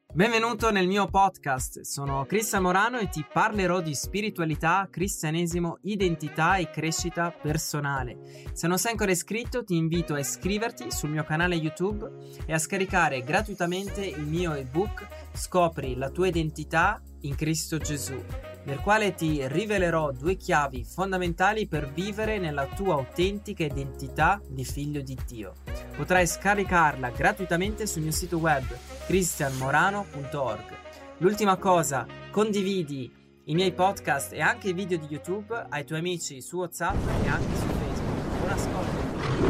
Benvenuto nel mio podcast, sono Cristian Morano e ti parlerò di spiritualità, cristianesimo, identità e crescita personale. Se non sei ancora iscritto ti invito a iscriverti sul mio canale YouTube e a scaricare gratuitamente il mio ebook Scopri la tua identità in Cristo Gesù, nel quale ti rivelerò 2 chiavi fondamentali per vivere nella tua autentica identità di figlio di Dio. Potrai scaricarla gratuitamente sul mio sito web cristianmorano.org. L'ultima cosa, condividi i miei podcast e anche i video di YouTube ai tuoi amici su WhatsApp e anche su Facebook. Buon ascolto.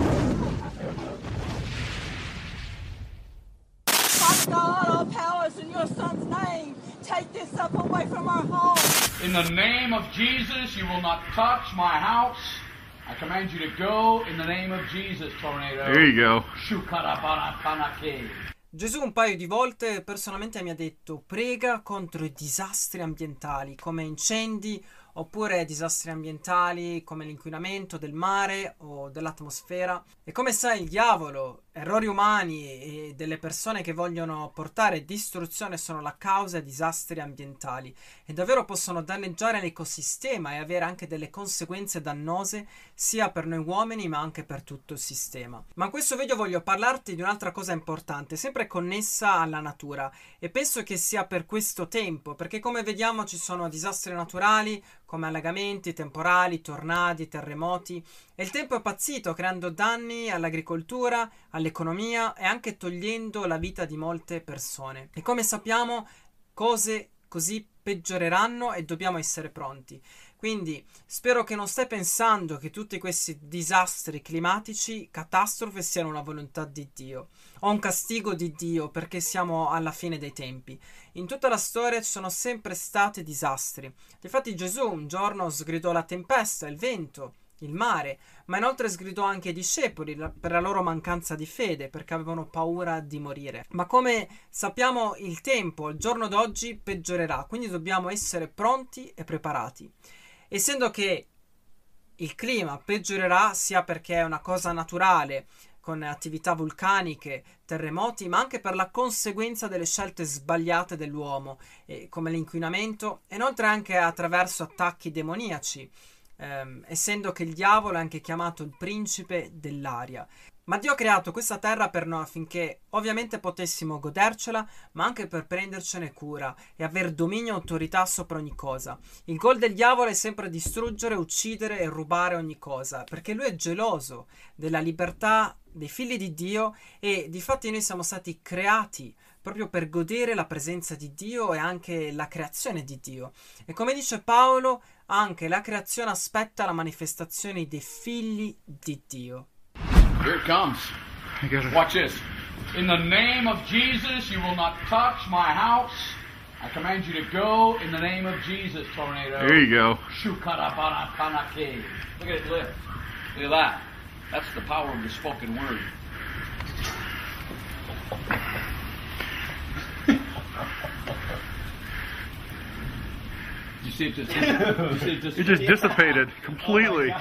God, all powers in your son's name. Take this up away from our home. In the name of Jesus, you will not touch my house. I command you to go in the name of Jesus, tornado. There you go. Shukarabanathanake. Gesù un paio di volte personalmente mi ha detto: prega contro i disastri ambientali come incendi oppure disastri ambientali come l'inquinamento del mare o dell'atmosfera. E come sai, il diavolo, errori umani e delle persone che vogliono portare distruzione sono la causa di disastri ambientali e davvero possono danneggiare l'ecosistema e avere anche delle conseguenze dannose sia per noi uomini ma anche per tutto il sistema. Ma in questo video voglio parlarti di un'altra cosa importante, sempre connessa alla natura, e penso che sia per questo tempo, perché come vediamo ci sono disastri naturali come allagamenti, temporali, tornadi, terremoti, e il tempo è impazzito creando danni all'agricoltura, all'economia e anche togliendo la vita di molte persone. E come sappiamo, cose così peggioreranno e dobbiamo essere pronti. Quindi spero che non stai pensando che tutti questi disastri climatici, catastrofe, siano una volontà di Dio o un castigo di Dio perché siamo alla fine dei tempi. In tutta la storia ci sono sempre stati disastri. Infatti Gesù un giorno sgridò la tempesta, il vento, il mare, ma inoltre sgridò anche ai discepoli per la loro mancanza di fede, perché avevano paura di morire. Ma come sappiamo, il tempo, il giorno d'oggi, peggiorerà, quindi dobbiamo essere pronti e preparati. Essendo che il clima peggiorerà sia perché è una cosa naturale, con attività vulcaniche, terremoti, ma anche per la conseguenza delle scelte sbagliate dell'uomo, come l'inquinamento, e inoltre anche attraverso attacchi demoniaci, essendo che il diavolo è anche chiamato il principe dell'aria. Ma Dio ha creato questa terra per noi affinché ovviamente potessimo godercela, ma anche per prendercene cura e aver dominio e autorità sopra ogni cosa. Il goal del diavolo è sempre distruggere, uccidere e rubare ogni cosa, perché lui è geloso della libertà dei figli di Dio, e difatti noi siamo stati creati proprio per godere la presenza di Dio e anche la creazione di Dio. E come dice Paolo, anche la creazione aspetta la manifestazione dei figli di Dio. Here it comes. Watch this. In the name of Jesus, you will not touch my house. I command you to go in the name of Jesus, tornado. There you go. Shukarabanathanake. Look at it lift. Look at that. That's the power of the spoken word. You see it just It just dissipated completely.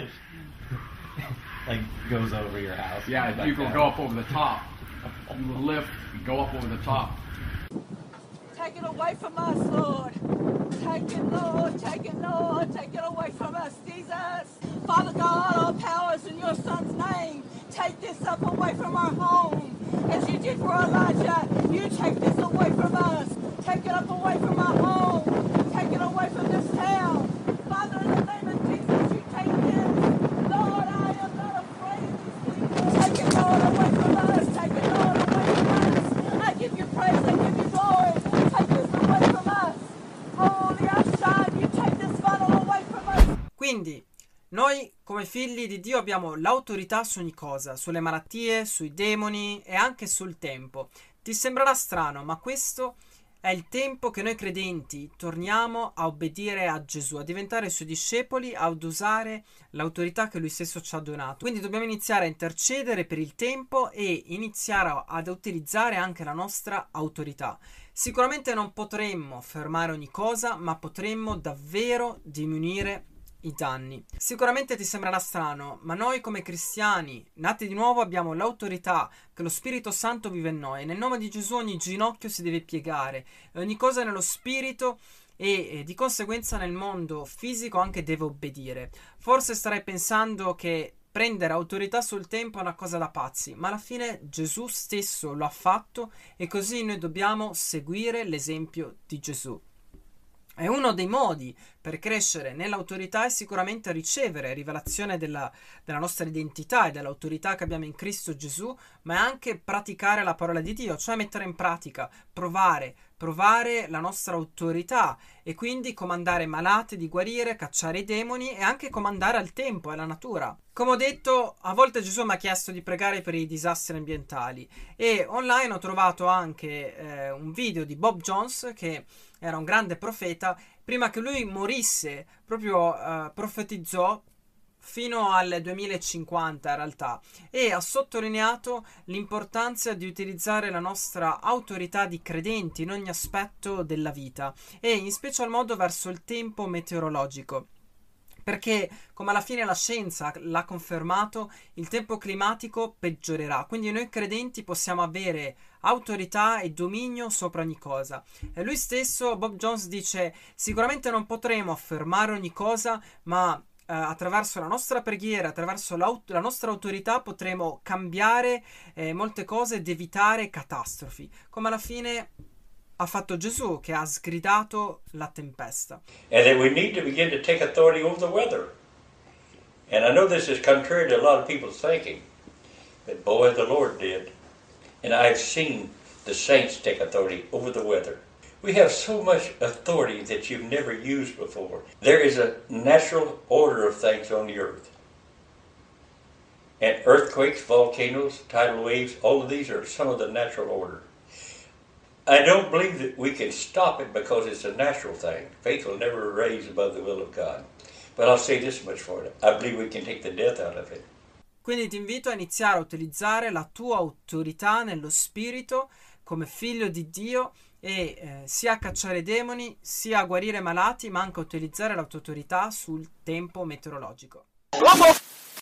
Like goes over your house. Yeah, like you will that. go up over the top. You will lift and go up over the top. Take it away from us, Lord. Take it, Lord. Take it, Lord. Take it away from us, Jesus. Father God, all powers in your son's name. Take this up away from our home. As you did for Elijah, you take this away from us. Take it up away from our home. Take it away from this town. Father, in the name of Jesus, you take this. Lord, I am not afraid of these people. Take it, Lord, away from us. Take it, Lord, away from us. I give you praise. I give you glory. Take this away from us. Holy outside, you take this funnel away from us. Quindi noi come figli di Dio abbiamo l'autorità su ogni cosa, sulle malattie, sui demoni e anche sul tempo. Ti sembrerà strano, ma questo è il tempo che noi credenti torniamo a obbedire a Gesù, a diventare i suoi discepoli, ad usare l'autorità che lui stesso ci ha donato. Quindi dobbiamo iniziare a intercedere per il tempo e iniziare ad utilizzare anche la nostra autorità. Sicuramente non potremmo fermare ogni cosa, ma potremmo davvero diminuire i danni. Sicuramente ti sembrerà strano, ma noi come cristiani, nati di nuovo, abbiamo l'autorità che lo Spirito Santo vive in noi. Nel nome di Gesù ogni ginocchio si deve piegare, ogni cosa nello Spirito e di conseguenza nel mondo fisico anche deve obbedire. Forse starai pensando che prendere autorità sul tempo è una cosa da pazzi, ma alla fine Gesù stesso lo ha fatto e così noi dobbiamo seguire l'esempio di Gesù. E uno dei modi per crescere nell'autorità è sicuramente ricevere rivelazione della nostra identità e dell'autorità che abbiamo in Cristo Gesù, ma è anche praticare la parola di Dio, cioè mettere in pratica, provare la nostra autorità e quindi comandare malati di guarire, cacciare i demoni e anche comandare al tempo e alla natura. Come ho detto, a volte Gesù mi ha chiesto di pregare per i disastri ambientali e online ho trovato anche un video di Bob Jones, che era un grande profeta. Prima che lui morisse proprio profetizzò fino al 2050 in realtà, e ha sottolineato l'importanza di utilizzare la nostra autorità di credenti in ogni aspetto della vita e in special modo verso il tempo meteorologico. Perché, come alla fine la scienza l'ha confermato, il tempo climatico peggiorerà. Quindi noi credenti possiamo avere autorità e dominio sopra ogni cosa. E lui stesso, Bob Jones, dice: sicuramente non potremo affermare ogni cosa, ma attraverso la nostra preghiera, attraverso la nostra autorità potremo cambiare molte cose ed evitare catastrofi. Come alla fine ha fatto Gesù, che ha sgridato la tempesta. And that we need to begin to take authority over the weather. And I know this is contrary to a lot of people's thinking, but boy, the Lord did. And I've seen the saints take authority over the weather. We have so much authority that you've never used before. There is a natural order of things on the earth. And earthquakes, volcanoes, tidal waves, all of these are some of the natural order. I don't believe that we can stop it because it's a natural thing. Faith will never raise above the will of God. But I'll say this much for it. I believe we can take the death out of it. Quindi ti invito a iniziare a utilizzare la tua autorità nello spirito come figlio di Dio e sia a cacciare demoni, sia a guarire malati, ma anche a utilizzare la tua autorità sul tempo meteorologico.